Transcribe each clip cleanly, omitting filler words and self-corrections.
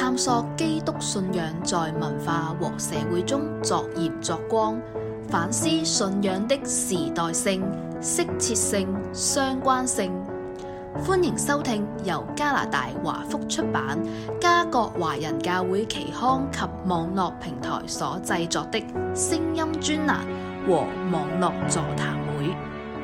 探索基督信仰在文化和社會中作鹽作光，反思信仰的時代性、適切性、相關性。歡迎收聽由加拿大華福出版、加國華人教會期刊及網絡平台所製作的聲音專欄和網絡座談會。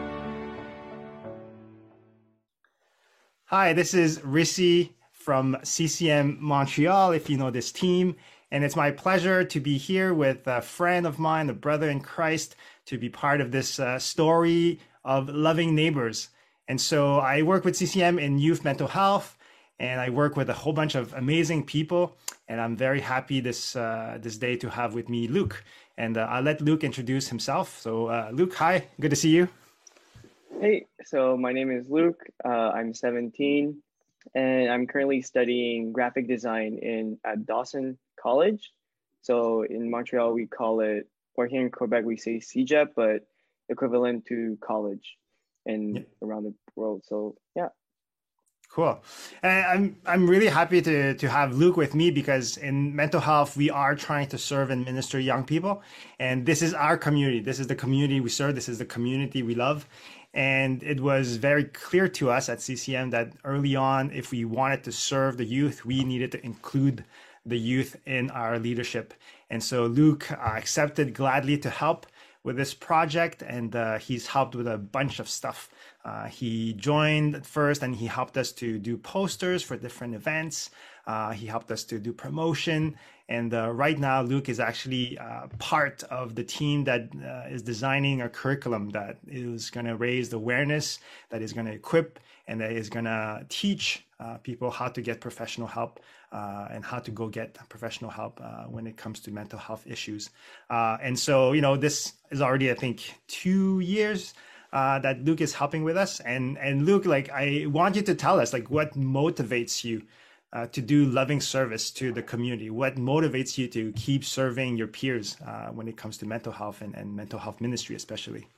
Hi, this is Rissi from CCM Montreal, if you know this team. And it's my pleasure to be here with a friend of mine, a brother in Christ, to be part of this story of loving neighbors. And so I work with CCM in youth mental health, and I work with a whole bunch of amazing people. And I'm very happy this day to have with me Luke. And I'll let Luke introduce himself. So Luke, hi, good to see you. Hey, so my name is Luke. I'm 17, and I'm currently studying graphic design at Dawson College. So in Montreal, we call it, or here in Quebec, we say CEGEP, but equivalent to college and around the world. So yeah. Cool. And I'm really happy to have Luke with me, because in mental health, we are trying to serve and minister young people. And this is our community. This is the community we serve. This is the community we love. And it was very clear to us at CCM that early on, if we wanted to serve the youth, we needed to include the youth in our leadership. And so Luke accepted gladly to help with this project, and he's helped with a bunch of stuff. He joined at first, and he helped us to do posters for different events. He helped us to do promotion. And right now, Luke is actually part of the team that is designing a curriculum that is going to raise the awareness, that is going to equip, and that is going to teach people how to get professional help and how to go get professional help when it comes to mental health issues. And so, you know, this is already, I think, 2 years that Luke is helping with us. And Luke, like, I want you to tell us, like, what motivates you to do loving service to the community? What motivates you to keep serving your peers when it comes to mental health and mental health ministry, especially?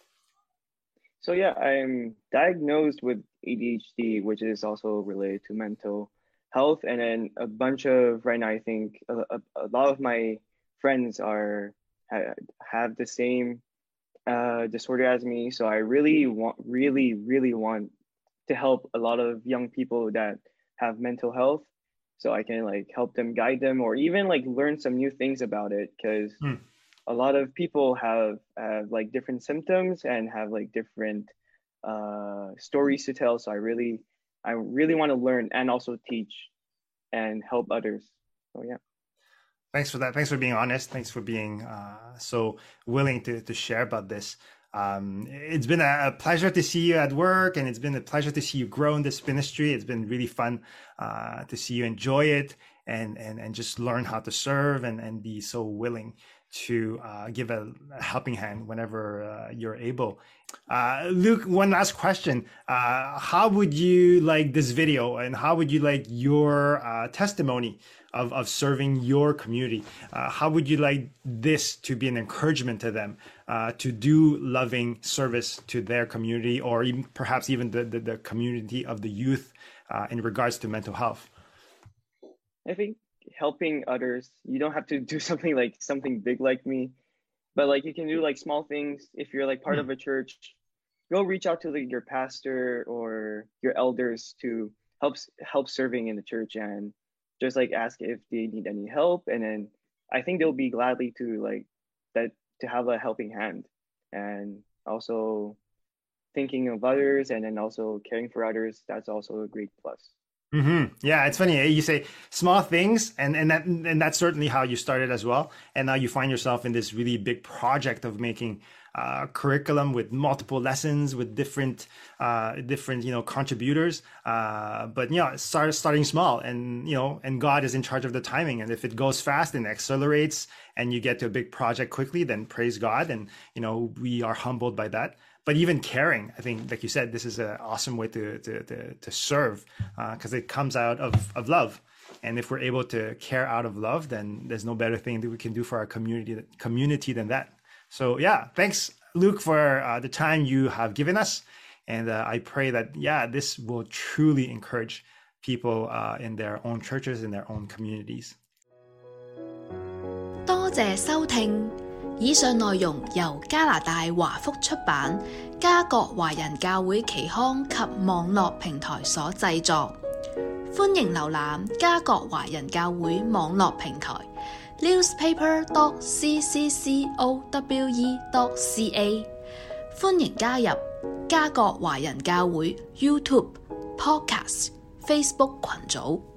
So yeah, I'm diagnosed with ADHD, which is also related to mental health. And then a bunch of, right now, I think a lot of my friends have the same disorder as me. So I really want to help a lot of young people that have mental health, so I can like help them, guide them, or even like learn some new things about it, because a lot of people have like different symptoms and have like different stories to tell. So I really want to learn and also teach and help others. So yeah. Thanks for that. Thanks for being honest. Thanks for being so willing to share about this. It's been a pleasure to see you at work, and it's been a pleasure to see you grow in this ministry. It's been really fun to see you enjoy it and just learn how to serve and be so willing to give a helping hand whenever you're able. Luke, one last question. How would you like this video, and how would you like your testimony of serving your community? How would you like this to be an encouragement to them to do loving service to their community, or even perhaps even the community of the youth in regards to mental health? I think helping others, you don't have to do something big like me, but like you can do like small things. If you're like part of a church, go reach out to your pastor or your elders to help serving in the church, and just like ask if they need any help. And then I think they'll be gladly to have a helping hand, and also thinking of others and then also caring for others. That's also a great plus. Mm-hmm. Yeah, it's funny. You say small things, and that's certainly how you started as well. And now you find yourself in this really big project of making curriculum with multiple lessons with different contributors. But starting small, and God is in charge of the timing. And if it goes fast and accelerates, and you get to a big project quickly, then praise God. And we are humbled by that. But even caring, I think, like you said, this is an awesome way to serve, because it comes out of love. And if we're able to care out of love, then there's no better thing that we can do for our community than that. So yeah, thanks, Luke, for the time you have given us. And I pray that, this will truly encourage people in their own churches, in their own communities. 多謝收聽，以上內容由加拿大華福出版、加國華人教會期刊及網絡平台所製作。歡迎瀏覽加國華人教會網絡平台 newspaper.cccowe.ca。歡迎加入加國華人教會 YouTube、Podcast、Facebook 群組。